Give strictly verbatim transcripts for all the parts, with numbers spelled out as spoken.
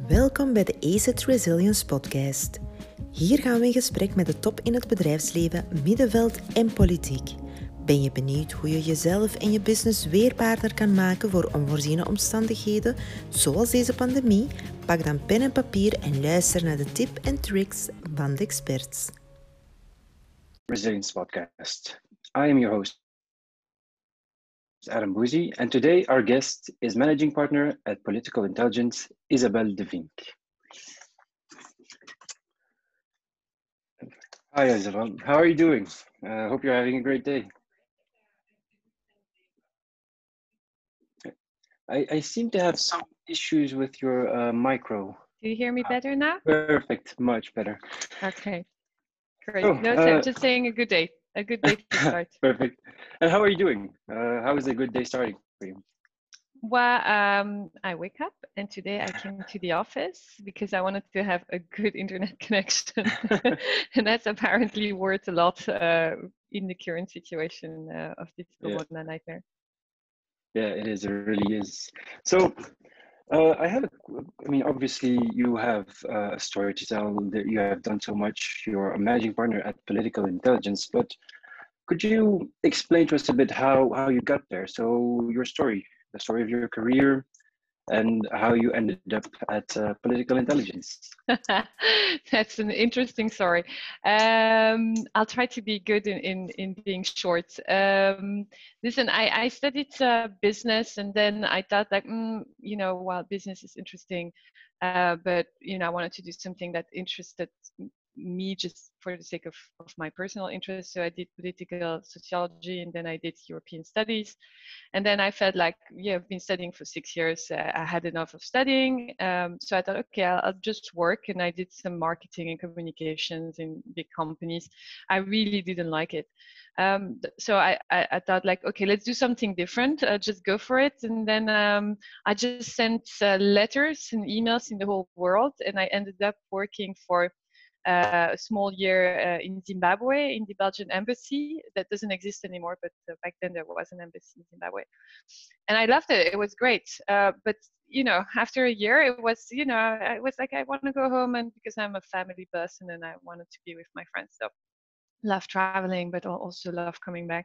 Welkom bij de A C E T Resilience Podcast. Hier gaan we in gesprek met de top in het bedrijfsleven, middenveld en politiek. Ben je benieuwd hoe je jezelf en je business weerbaarder kan maken voor onvoorziene omstandigheden, zoals deze pandemie? Pak dan pen en papier en luister naar de tips en tricks van de experts. Resilience Podcast. I am your host, Adam Bouzy, and today our guest is Managing Partner at Political Intelligence, Isabelle de Vink. Hi, Isabelle. How are you doing? I uh, hope you're having a great day. I, I seem to have some issues with your uh, micro. Do you hear me better now? Perfect, much better. Okay, great. Oh, no, so uh, just saying a good day. A good day to start. Perfect. And how are you doing? Uh, how is a good day starting for you? Well, um, I wake up and today I came to the office because I wanted to have a good internet connection. And that's apparently worth a lot uh, in the current situation uh, of this corona yeah. nightmare. Yeah, it is. It really is. So, uh, I have, a, I mean, obviously you have uh, a story to tell, that you have done so much. You're a managing partner at Political Intelligence, but could you explain to us a bit how, how you got there? So your story, the story of your career, and how you ended up at uh, Political Intelligence. That's an interesting story. Um, I'll try to be good in, in, in being short. Um, listen, I, I studied uh, business, and then I thought like, mm, you know, while business is interesting, uh, but, you know, I wanted to do something that interested me just for the sake of, of my personal interest. So I did political sociology, and then I did European studies. And then I felt like, yeah, I've been studying for six years. Uh, I had enough of studying. Um, so I thought, okay, I'll, I'll just work. And I did some marketing and communications in big companies. I really didn't like it. Um, so I, I, I thought like, okay, let's do something different. Uh, just go for it. And then um, I just sent uh, letters and emails in the whole world. And I ended up working for Uh, a small year uh, in Zimbabwe, in the Belgian embassy. That doesn't exist anymore, but uh, back then there was an embassy in Zimbabwe. And I loved it. It was great. Uh, but, you know, after a year, it was, you know, I was like, I want to go home, and because I'm a family person and I wanted to be with my friends. So love traveling, but also love coming back.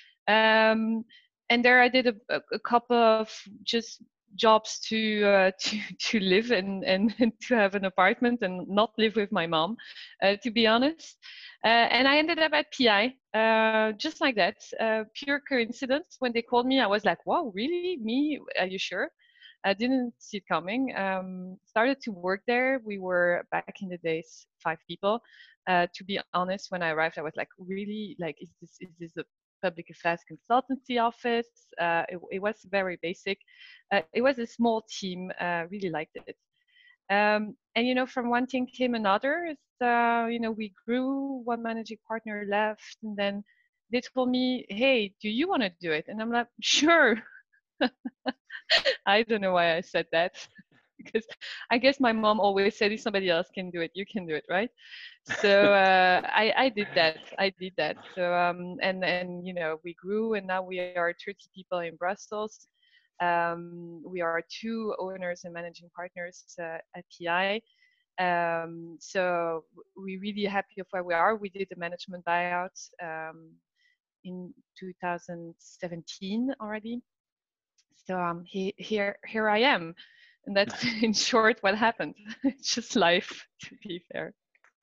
Um, and there I did a, a couple of just jobs to uh, to to live and, and to have an apartment and not live with my mom, uh, to be honest. Uh, and I ended up at P I, uh, just like that, uh, pure coincidence. When they called me, I was like, wow, really? Me? Are you sure? I didn't see it coming. Um, started to work there. We were, back in the days, five people. Uh, to be honest, when I arrived, I was like, really? Like, is this is this a public affairs consultancy office? Uh, it, it was very basic. Uh, it was a small team. Uh, really liked it. Um, and you know, from one thing came another. Uh, you know, we grew. One managing partner left, and then they told me, "Hey, do you want to do it?" And I'm like, "Sure." I don't know why I said that. Because I guess my mom always said, if somebody else can do it, you can do it, right? So uh, I, I did that. I did that. So um, and and you know, we grew, and now we are thirty people in Brussels. Um, we are two owners and managing partners uh, at P I. Um, so we're really happy of where we are. We did the management buyout um, in two thousand seventeen already. So um, he, here here I am. And that's in short what happened. It's just life, to be fair.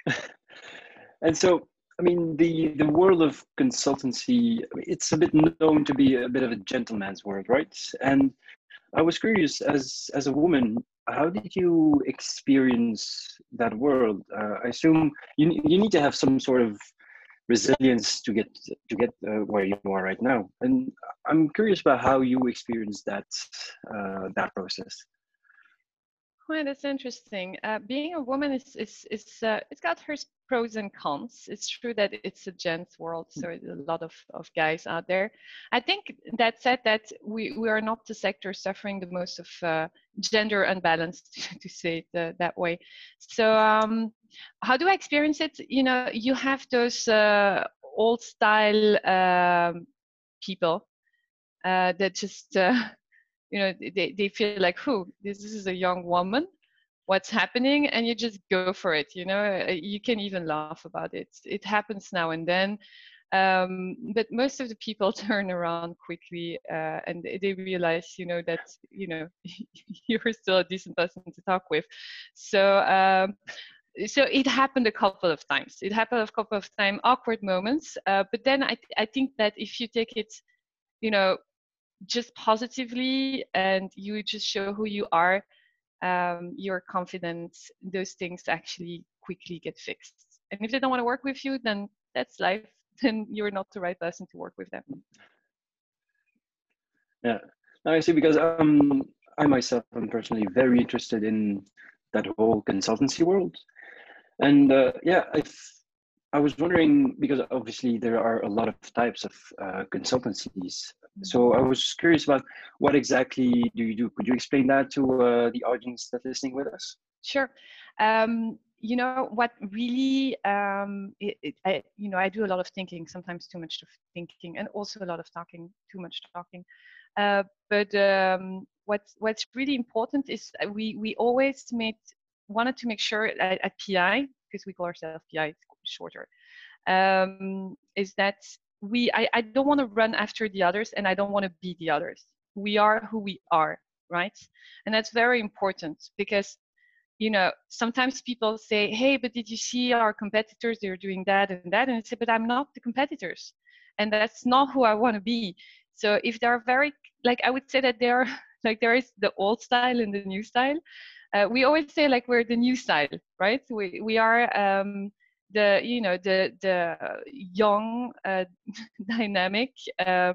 And so, I mean, the, the world of consultancy, it's a bit known to be a bit of a gentleman's world, right? And I was curious, as, as a woman, how did you experience that world? Uh, I assume you, you need to have some sort of resilience to get to get uh, where you are right now. And I'm curious about how you experienced that, uh, that process. Well, that's interesting. Uh, being a woman is is is uh, it's got her pros and cons. It's true that it's a gents world, so there's a lot of, of guys out there. I think that said, that we, we are not the sector suffering the most of uh, gender unbalance, to say it uh, that way. So um, how do I experience it? You know, you have those uh, old style um, people uh, that just. Uh, You know, they, they feel like, who, this, this is a young woman. what's happening, and you just go for it. You know, you can even laugh about it. It happens now and then. Um, but most of the people turn around quickly, uh, and they realize, you know, that, you know, you're still a decent person to talk with. So, um, so it happened a couple of times. It happened a couple of times, awkward moments. Uh, but then I, th- I think that if you take it, you know, just positively, and you just show who you are, um, your confidence, those things actually quickly get fixed. And if they don't want to work with you, then that's life. Then you're not the right person to work with them. Yeah, no, I see, because um, I myself am personally very interested in that whole consultancy world. And uh, yeah, I I was wondering, because obviously there are a lot of types of uh, consultancies. So I was curious about what exactly do you do? Could you explain that to uh, the audience that's listening with us? Sure. Um, you know what really, um, it, it, I, you know, I do a lot of thinking, sometimes too much of thinking, and also a lot of talking, too much talking. Uh, but um, what's what's really important is we we always made wanted to make sure at, at P I, because we call ourselves P I, it's shorter, um, is that we I, I don't want to run after the others, and I don't want to be the others. We are who we are, right? And that's very important, because you know, sometimes people say, hey, but did you see our competitors? They're doing that and that. And I say, but I'm not the competitors. And that's not who I want to be. So if they're very, like, I would say that they're, like, there is the old style and the new style. Uh, we always say, like, we're the new style, right? We, we are um, the, you know, the, the young, uh, dynamic, uh,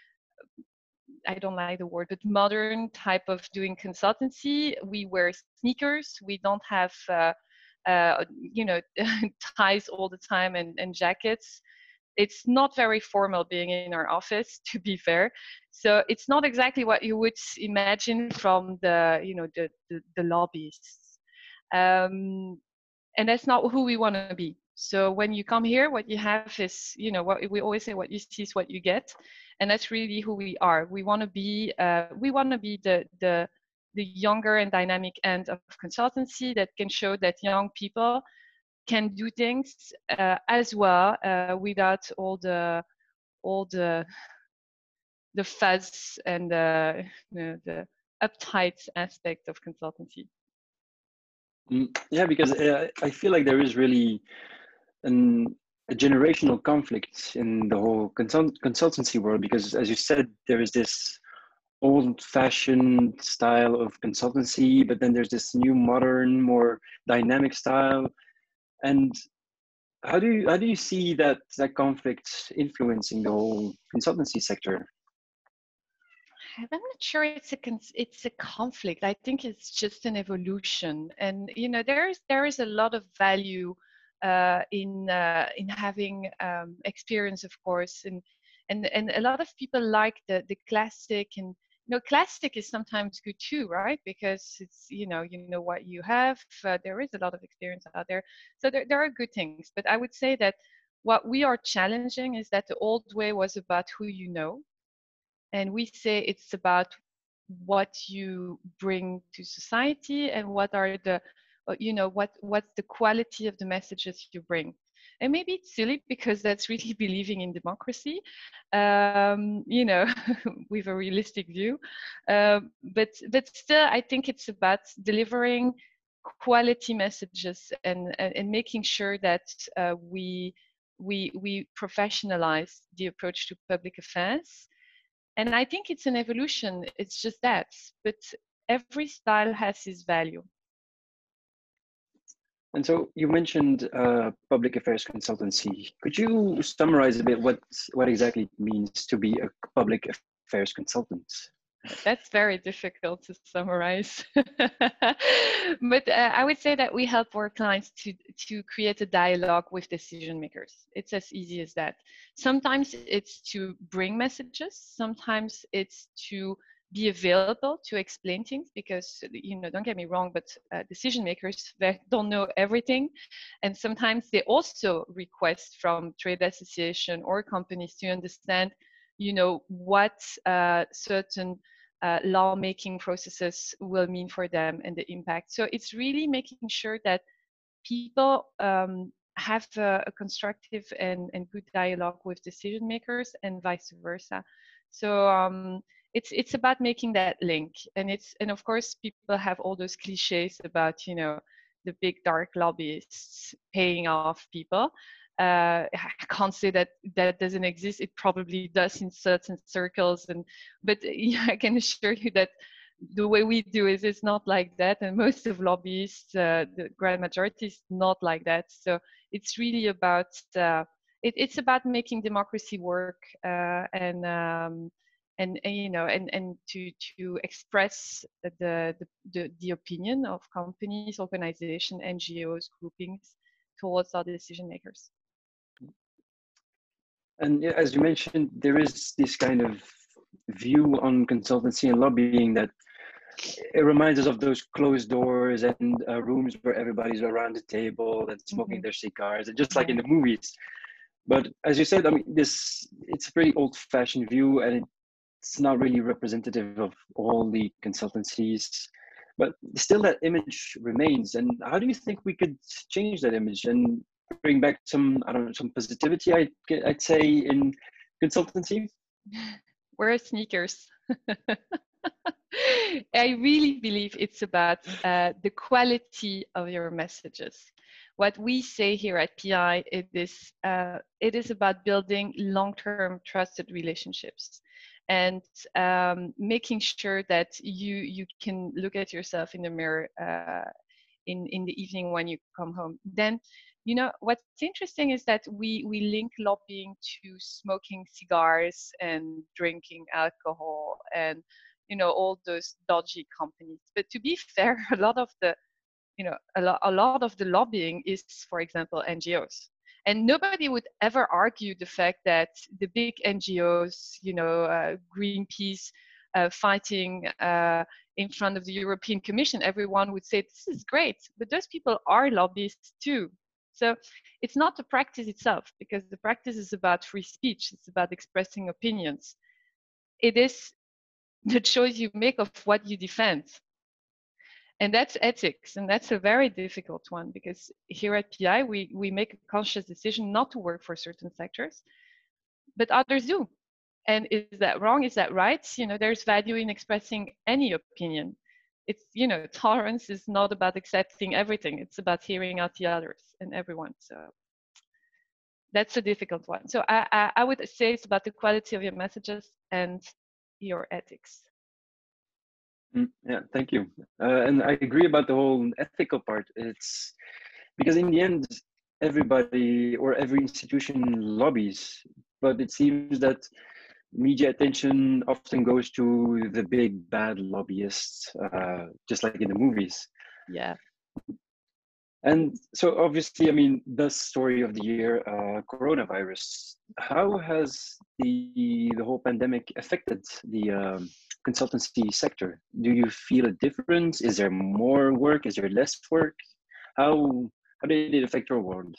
I don't like the word, but modern type of doing consultancy. We wear sneakers. We don't have, uh, uh, you know, ties all the time and, and jackets. It's not very formal being in our office, to be fair. So it's not exactly what you would imagine from the, you know, the the, the lobbyists. Um, and that's not who we want to be. So when you come here, what you have is, you know, what we always say, what you see is what you get, and that's really who we are. We want to be, uh, we want to be the the the younger and dynamic end of consultancy that can show that young people can do things uh, as well, uh, without all the all the the fuzz and the, you know, the uptight aspect of consultancy. Mm, yeah, because uh, I feel like there is really an, a generational conflict in the whole consult consultancy world, because, as you said, there is this old-fashioned style of consultancy, but then there's this new, modern, more dynamic style. And how do you how do you see that that conflict influencing the whole consultancy sector? I'm not sure it's a con- it's a conflict. I think it's just an evolution, and you know there is there is a lot of value uh, in uh, in having um, experience, of course, and and and a lot of people like the the classic, and you know classic is sometimes good too, right? Because it's you know you know what you have. Uh, there is a lot of experience out there, so there there are good things. But I would say that what we are challenging is that the old way was about who you know, and we say it's about what you bring to society and what are the uh, you know what what's the quality of the messages you bring. And maybe it's silly because that's really believing in democracy, um, you know with a realistic view, um, but but still I think it's about delivering quality messages, and and, and making sure that uh, we we we professionalize the approach to public affairs. And I think it's an evolution, it's just that. But every style has its value. And so you mentioned uh, public affairs consultancy. Could you summarize a bit what what exactly it means to be a public affairs consultant? That's very difficult to summarize. But uh, I would say that we help our clients to, to create a dialogue with decision makers. It's as easy as that. Sometimes it's to bring messages. Sometimes it's to be available to explain things, because, you know, don't get me wrong, but uh, decision makers, they don't know everything. And sometimes they also request from trade association or companies to understand, you know, what uh, certain uh, lawmaking processes will mean for them and the impact. So it's really making sure that people um, have a, a constructive and, and good dialogue with decision makers and vice versa. So um, it's it's about making that link, and it's and of course people have all those cliches about, you know, the big dark lobbyists paying off people. Uh, I can't say that that doesn't exist. It probably does in certain circles, and but yeah, I can assure you that the way we do is it's not like that, and most of lobbyists, uh, the grand majority, is not like that. So it's really about uh, it, it's about making democracy work, uh, and um, and, and you know and and to to express the the, the the opinion of companies, organizations, N G Os, groupings towards our decision makers. And yeah, as you mentioned, there is this kind of view on consultancy and lobbying that it reminds us of those closed doors and uh, rooms where everybody's around the table and smoking mm-hmm. their cigars, just yeah. like in the movies. But as you said, I mean, this it's a pretty old-fashioned view, and it's not really representative of all the consultancies. But still, that image remains. And how do you think we could change that image and bring back some, I don't know, some positivity? I'd, I'd say in consultancy. Wear sneakers. I really believe it's about uh, the quality of your messages. What we say here at P I, it is, uh, it is about building long-term trusted relationships and um, making sure that you, you can look at yourself in the mirror uh, in, in the evening when you come home. Then, you know, what's interesting is that we, we link lobbying to smoking cigars and drinking alcohol and, you know, all those dodgy companies. But to be fair, a lot of the, you know, a, lo- a lot of the lobbying is, for example, N G Os. And nobody would ever argue the fact that the big N G Os, you know, uh, Greenpeace, uh, fighting uh, in front of the European Commission, everyone would say, this is great, but those people are lobbyists too. So it's not the practice itself, because the practice is about free speech. It's about expressing opinions. It is the choice you make of what you defend. And that's ethics, and that's a very difficult one, because here at P I, we, we make a conscious decision not to work for certain sectors, but others do. And is that wrong? Is that right? You know, there's value in expressing any opinion. It's, you know, tolerance is not about accepting everything. It's about hearing out the others and everyone. So that's a difficult one. So I, I, I would say it's about the quality of your messages and your ethics. Mm, yeah, thank you. Uh, and I agree about the whole ethical part. It's because in the end, everybody or every institution lobbies, but it seems that media attention often goes to the big bad lobbyists, uh, just like in the movies. Yeah. And so obviously, I mean, the story of the year, uh, coronavirus. How has the the whole pandemic affected the um, consultancy sector? Do you feel a difference? Is there more work? Is there less work? How how did it affect your world?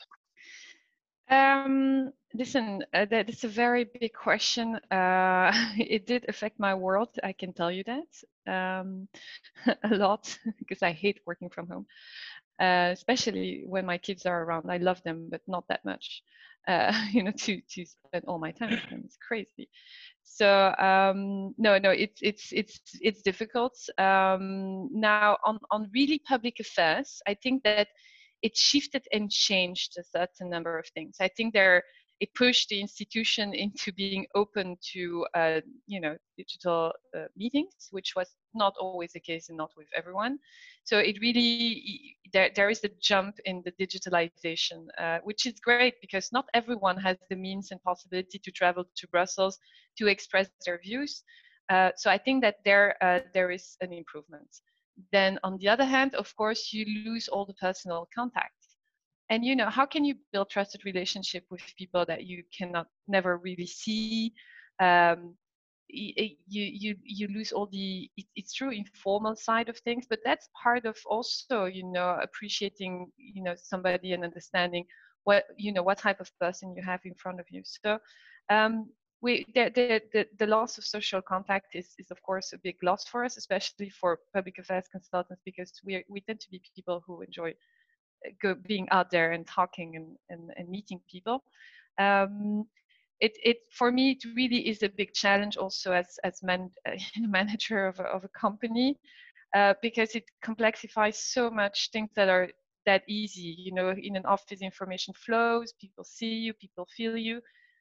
Um, listen, uh, that is a very big question. Uh, it did affect my world, I can tell you that, um, a lot, because I hate working from home, uh, especially when my kids are around. I love them, but not that much, uh, you know, to, to spend all my time with them. It's crazy. So um, no, no, it's it's it's it's difficult. Um, now, on on really public affairs, I think that it shifted and changed a certain number of things. I think there it pushed the institution into being open to uh, you know digital uh, meetings, which was not always the case and not with everyone. So it really there there is a jump in the digitalization, uh, which is great, because not everyone has the means and possibility to travel to Brussels to express their views. Uh, so I think that there uh, there is an improvement. Then on the other hand, of course, you lose all the personal contact. And you know, how can you build trusted relationship with people that you cannot never really see? Um, you you you lose all the it, it's true informal side of things, but that's part of also, you know, appreciating, you know, somebody and understanding what, you know, what type of person you have in front of you. So um, we the, the the the loss of social contact is is of course a big loss for us, especially for public affairs consultants, because we we tend to be people who enjoy go being out there and talking and and, and meeting people. Um, it it for me it really is a big challenge also as as man, uh, manager of a, of a company, uh, because it complexifies so much things that are that easy. You know, in an office, information flows, people see you, people feel you.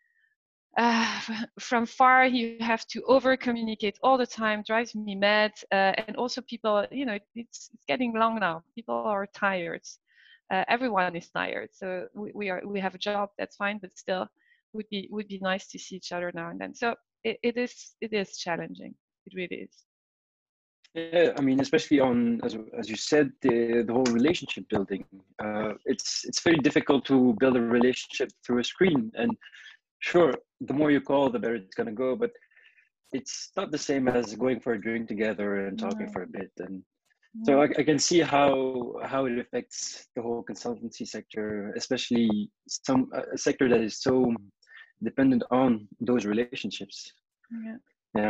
Uh, from far, you have to over communicate all the time, drives me mad. Uh, and also, people, you know, it's, it's getting long now. People are tired. Uh, everyone is tired. So we, we are we have a job, that's fine, but still, would be would be nice to see each other now and then. So it, it is it is challenging. It really is. Yeah, I mean, especially on, as, as you said, the, the whole relationship building. Uh, it's it's very difficult to build a relationship through a screen. And sure, the more you call, the better it's going to go. But it's not the same as going for a drink together and talking No. for a bit. And No. so I, I can see how how it affects the whole consultancy sector, especially some a sector that is so dependent on those relationships. Yeah. Yeah.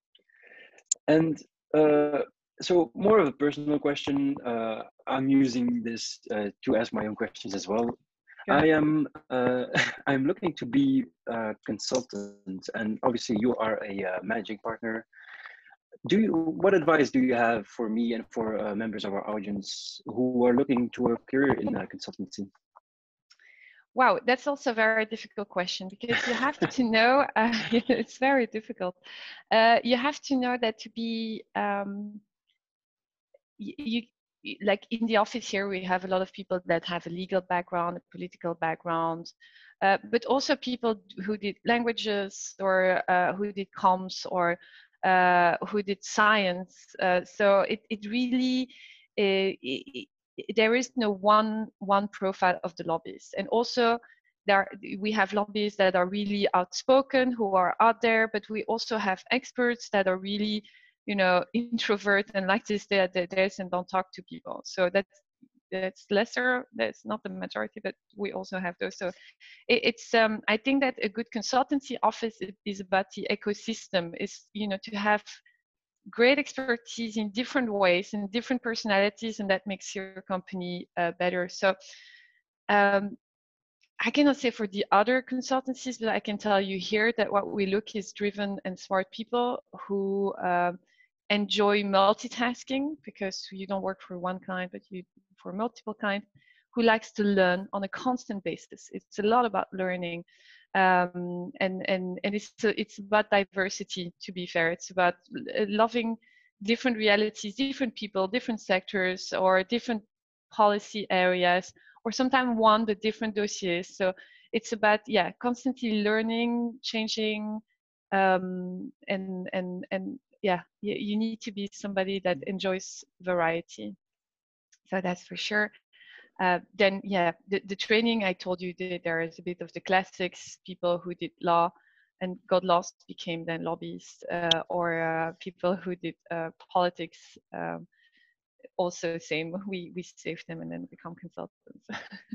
And uh, so more of a personal question. Uh, I'm using this uh, to ask my own questions as well. Good. I am uh, I'm looking to be a consultant, and obviously you are a uh, managing partner. Do you? What advice do you have for me and for uh, members of our audience who are looking to a career in uh, consultancy? Wow, that's also a very difficult question, because you have to know, uh, it's very difficult. Uh, you have to know that to be, um, you, you, like in the office here, we have a lot of people that have a legal background, a political background, uh, but also people who did languages or uh, who did comms or uh, who did science. Uh, so it, it really, uh, it, there is no one one profile of the lobbyists. And also there we have lobbyists that are really outspoken, who are out there, but we also have experts that are really, you know, introvert and like to stay at their desk and don't talk to people. So that's that's lesser, that's not the majority, but we also have those. So it, it's um I think that a good consultancy office is about the ecosystem, is, you know, to have great expertise in different ways and different personalities, and that makes your company uh, better. So um, I cannot say for the other consultancies, but I can tell you here that what we look is driven and smart people who uh, enjoy multitasking, because you don't work for one kind, but you for multiple kind, who likes to learn on a constant basis. It's a lot about learning. Um, and and and it's it's about diversity. To be fair, it's about loving different realities, different people, different sectors, or different policy areas, or sometimes one but different dossiers. So it's about, yeah, constantly learning, changing, um, and and and yeah, you, you need to be somebody that enjoys variety. So that's for sure. Uh, then, yeah, the, the training I told you, the, there is a bit of the classics, people who did law and got lost became then lobbyists, uh, or uh, people who did uh, politics, um, also same, we, we save them and then become consultants.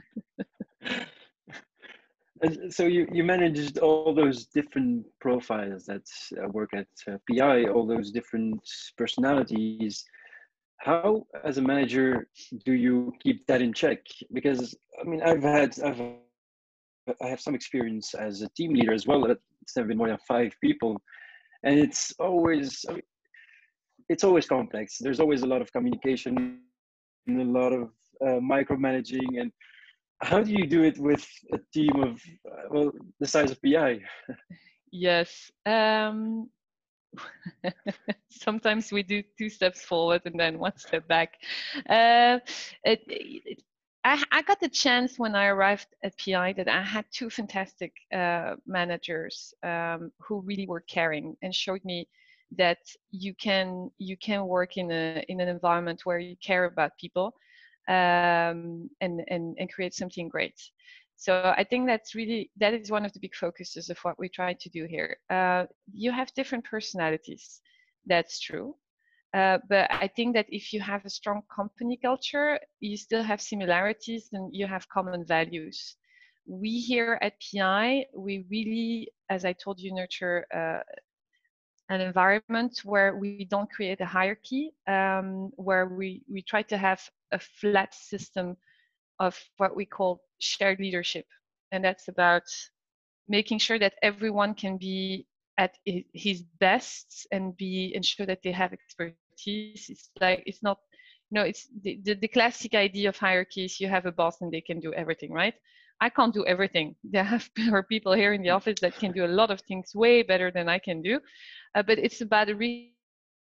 And so you, you managed all those different profiles that uh, work at uh, P I, all those different personalities. How, as a manager, do you keep that in check? Because I mean, I've had, I've, I have some experience as a team leader as well. It's never been more than five people, and it's always, I mean, it's always complex. There's always a lot of communication, and a lot of uh, micromanaging. And how do you do it with a team of, uh, well, the size of P I? Yes. Um, sometimes we do two steps forward and then one step back. Uh, it, it, I, I got the chance when I arrived at P I that I had two fantastic uh, managers um, who really were caring and showed me that you can you can work in a in an environment where you care about people, um, and and and create something great. So I think that's really, that is one of the big focuses of what we try to do here. Uh, you have different personalities, that's true. Uh, but I think that if you have a strong company culture, you still have similarities and you have common values, we here at P I, we really, as I told you, nurture uh, an environment where we don't create a hierarchy, um, where we, we try to have a flat system of what we call shared leadership. And that's about making sure that everyone can be at his best and be ensure that they have expertise. It's like, it's not, no, it's the, the, the classic idea of hierarchies. You have a boss and they can do everything, right? I can't do everything. There have are people here in the office that can do a lot of things way better than I can do. Uh, but it's about a re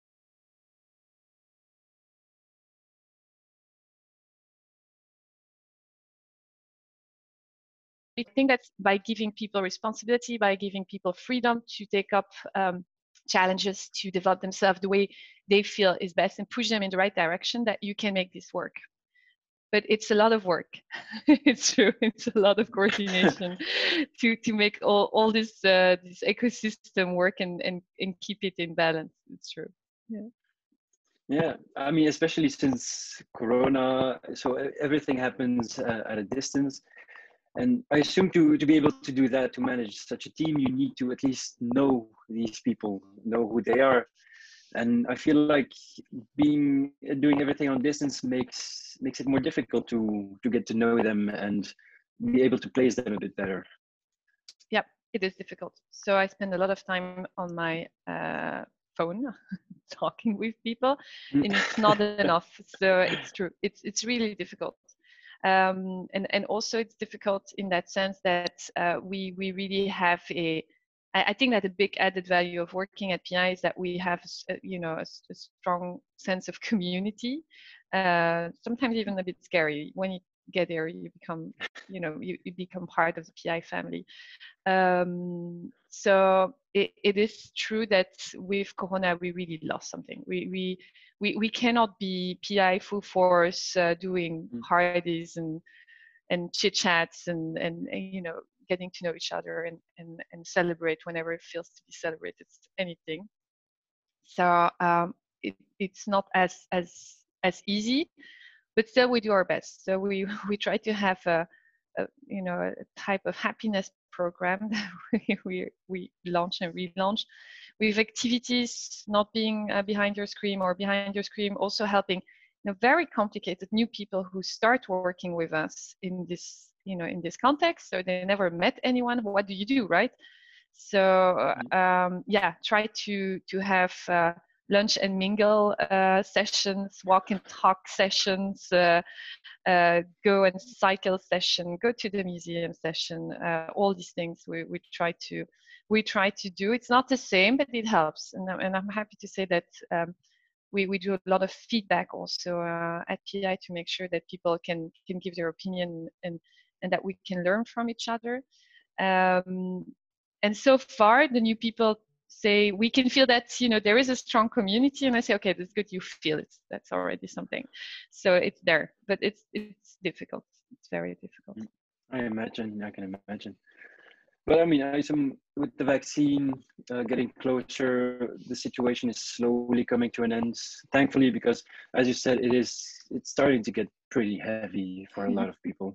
I think that by giving people responsibility, by giving people freedom to take up um, challenges, to develop themselves the way they feel is best and push them in the right direction, that you can make this work. But it's a lot of work. It's true. It's a lot of coordination to to make all all this uh, this ecosystem work and and and keep it in balance. It's true. Yeah. Yeah, I mean, especially since Corona, so everything happens uh, at a distance. And I assume to, to be able to do that, to manage such a team, you need to at least know these people, know who they are. And I feel like being doing everything on distance makes makes it more difficult to to get to know them and be able to place them a bit better. Yep, it is difficult. So I spend a lot of time on my uh, phone talking with people, and it's not enough. So it's true. It's it's really difficult. Um, and and also it's difficult in that sense that uh, we we really have a. I think that a big added value of working at P I is that we have, you know, a, a strong sense of community. Uh, sometimes even a bit scary. When you get there, you become, you know, you, you become part of the P I family. Um, so it, it is true that with Corona, we really lost something. We we we, we cannot be P I full force uh, doing hardies and and chit chats and, and and you know, getting to know each other and, and, and celebrate whenever it feels to be celebrated, anything. So um, it, it's not as as as easy, but still we do our best. So we we try to have a, a you know, a type of happiness program that we we, we launch and relaunch with activities, not being uh, behind your screen or behind your screen, also helping, you know, very complicated new people who start working with us in this, you know, in this context. So they never met anyone. What do you do, right? So um, yeah, try to to have uh, lunch and mingle uh, sessions, walk and talk sessions, uh, uh, go and cycle session, go to the museum session. Uh, all these things we we try to we try to do. It's not the same, but it helps, and and I'm happy to say that. Um, we, we do a lot of feedback also uh, at P I to make sure that people can can give their opinion and and that we can learn from each other. Um, and so far, the new people say we can feel that, you know, there is a strong community, and I say, okay, that's good. You feel it. That's already something. So it's there, but it's it's difficult. It's very difficult. I imagine. I can imagine. But I mean, I assume with the vaccine uh, getting closer, the situation is slowly coming to an end. Thankfully, because as you said, it is it's starting to get pretty heavy for a lot of people.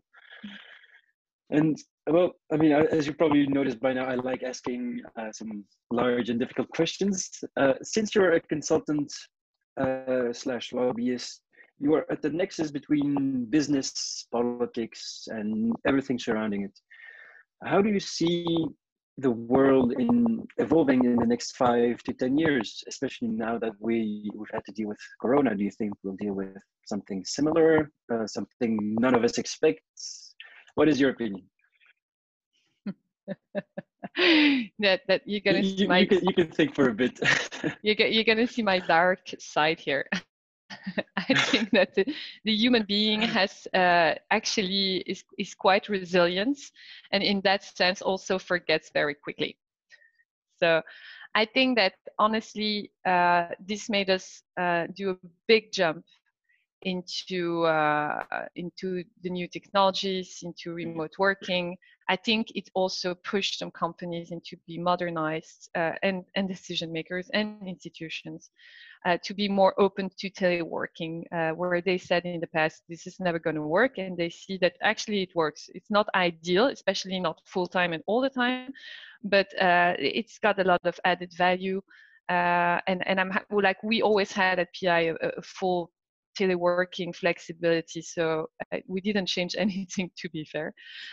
And well, I mean, as you probably noticed by now, I like asking uh, some large and difficult questions. Uh, since you're a consultant uh, slash lobbyist, you are at the nexus between business, politics, and everything surrounding it. How do you see the world in evolving in the next five to ten years, especially now that we, we've had to deal with Corona? Do you think we'll deal with something similar, uh, something none of us expects? What is your opinion? that that you're gonna you, see my you, can, you can think for a bit. you get, you're gonna see my dark side here. I think that the, the human being has uh, actually is, is quite resilient, and in that sense also forgets very quickly. So I think that honestly, uh, this made us uh, do a big jump into uh, into the new technologies, into remote working. I think it also pushed some companies into be modernized uh, and and decision makers and institutions uh, to be more open to teleworking, uh, where they said in the past this is never going to work, and they see that actually it works. It's not ideal, especially not full time and all the time, but uh, it's got a lot of added value. Uh, and and I'm ha- like we always had at P I a, a full teleworking flexibility, so uh, we didn't change anything, to be fair.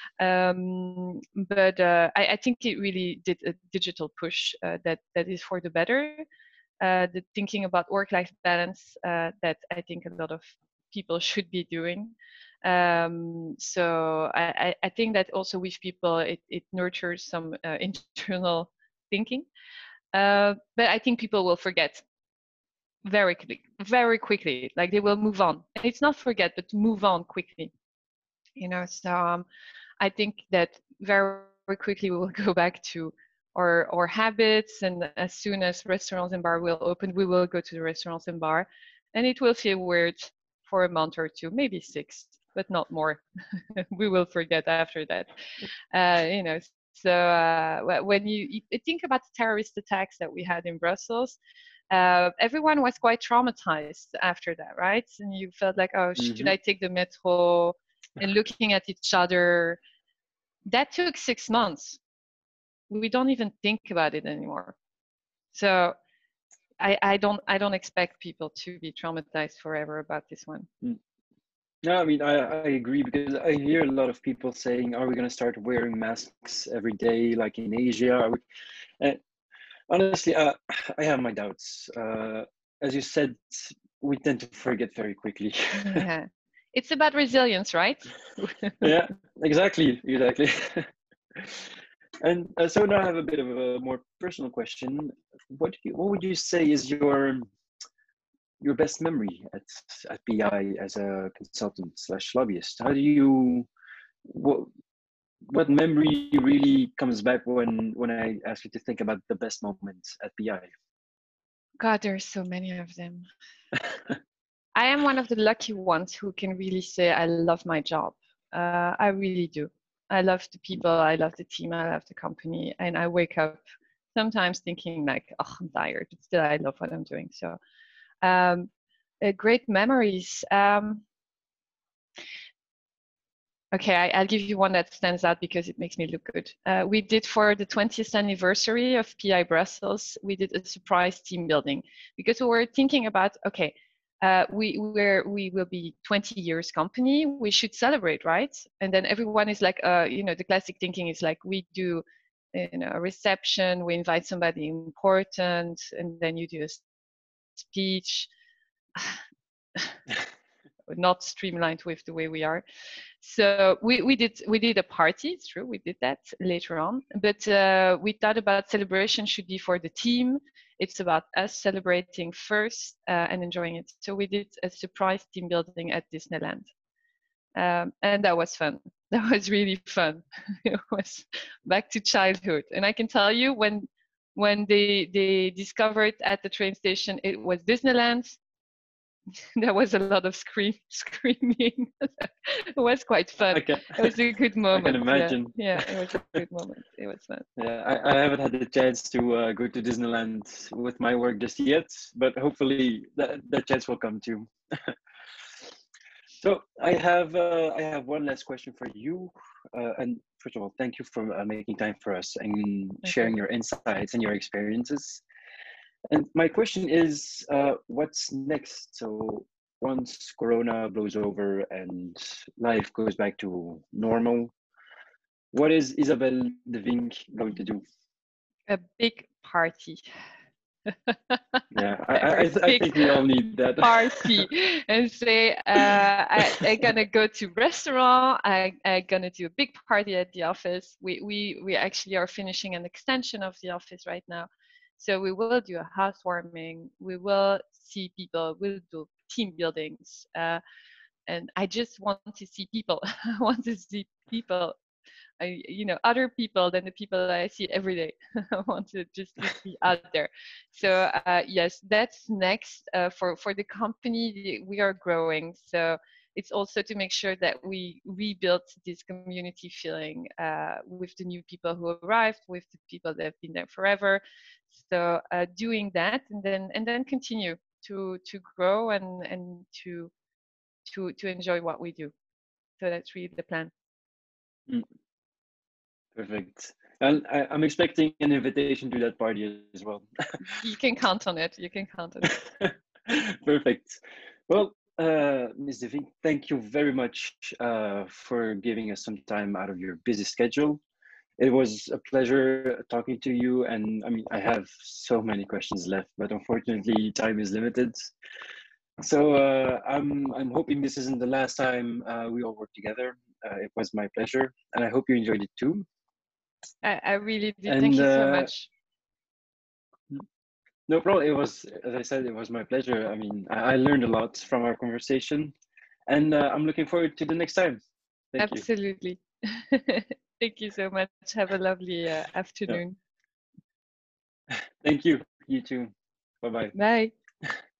Um, but uh, I, I think it really did a digital push uh, that that is for the better. Uh, the thinking about work-life balance uh, that I think a lot of people should be doing. Um, so I, I, I think that also with people it, it nurtures some uh, internal thinking. Uh, but I think people will forget very quickly, very quickly. Like they will move on. And it's not forget, but move on quickly. You know, so um, I think that very quickly we will go back to our our habits, and as soon as restaurants and bar will open, we will go to the restaurants and bar, and it will feel weird for a month or two, maybe six, but not more. We will forget after that. Uh, you know, so uh, when you, you think about the terrorist attacks that we had in Brussels, uh, everyone was quite traumatized after that, right? And you felt like, oh, should Mm-hmm. I take the metro? And looking at each other. That took six months. We don't even think about it anymore. So I, I don't I don't expect people to be traumatized forever about this one. No, I mean, I, I agree, because I hear a lot of people saying, are we going to start wearing masks every day like in Asia? Are we... And honestly, uh, I have my doubts. Uh, as you said, we tend to forget very quickly. Yeah. It's about resilience, right? Yeah, exactly, exactly. And uh, so now I have a bit of a more personal question. What do you, what would you say is your your best memory at at P I as a consultant slash lobbyist? How do you what what memory really comes back when when I ask you to think about the best moments at P I? God, there's so many of them. I am one of the lucky ones who can really say I love my job. Uh, I really do. I love the people, I love the team, I love the company, and I wake up sometimes thinking like, oh, I'm tired, but still I love what I'm doing. So, um, uh, great memories. Um, okay, I, I'll give you one that stands out because it makes me look good. Uh, we did for the twentieth anniversary of P I Brussels, we did a surprise team building because we were thinking about, okay, uh, we we're, we will be twenty years company. We should celebrate, right? And then everyone is like, uh, you know, the classic thinking is like we do, you know, a reception. We invite somebody important, and then you do a speech. Not streamlined with the way we are. So we, we did we did a party. It's true, we did that later on. But uh, we thought about celebration should be for the team. It's about us celebrating first uh, and enjoying it. So we did a surprise team building at Disneyland, um, and that was fun. That was really fun. It was back to childhood. And I can tell you, when when they they discovered at the train station it was Disneyland, there was a lot of scream, screaming. It was quite fun. I can, It was a good moment. I can imagine. Yeah, yeah, it was a good moment. It was fun. Yeah, I, I haven't had the chance to uh, go to Disneyland with my work just yet, but hopefully that, that chance will come too. So I have uh, I have one last question for you. Uh, and first of all, thank you for uh, making time for us and sharing your insights and your experiences. And my question is, uh, what's next? So once Corona blows over and life goes back to normal, what is Isabelle de Vink going to do? A big party. Yeah, I, I, I, th- I think we all need that. Party and say, uh, I, I'm gonna go to restaurant. I, I'm gonna do a big party at the office. We, we, we actually are finishing an extension of the office right now. So we will do a housewarming. We will see people. We'll do team buildings. Uh, and I just want to see people. I want to see people I, you know, other people than the people that I see every day. I want to just to be out there. So uh, yes, that's next uh, for for the company. We are growing, so it's also to make sure that we rebuild this community feeling uh, with the new people who arrived, with the people that have been there forever. So uh, doing that, and then and then continue to to grow and and to to to enjoy what we do. So that's really the plan. Mm, perfect. And I, I'm expecting an invitation to that party as well. You can count on it. You can count on it. Perfect. Well, uh, Miz De Vink, thank you very much uh, for giving us some time out of your busy schedule. It was a pleasure talking to you, and I mean, I have so many questions left, but unfortunately, time is limited. So uh, I'm I'm hoping this isn't the last time uh, we all work together. Uh, it was my pleasure, and I hope you enjoyed it too. I, I really did. And Thank you so uh, much. no problem. It was, as I said, it was my pleasure. I mean, I, I learned a lot from our conversation, and uh, I'm looking forward to the next time. Thank Absolutely. Thank you so much. Have a lovely uh, afternoon. Yeah. Thank you. You too. Bye-bye. Bye.